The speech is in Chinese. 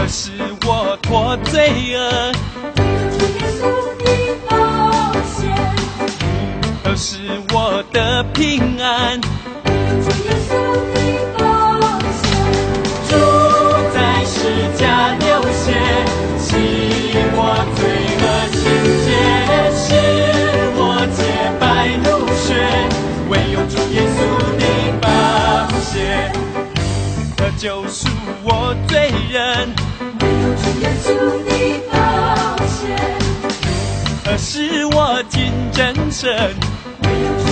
使我脱罪恶， 主耶稣的宝血， 使我得平安。 主耶稣的宝血， 主在十架流血，洗我罪恶清洁，使我洁白如雪。唯有主耶稣的宝血，救赎我罪人。 唯有主耶稣的宝血， 使我进真神。 唯有主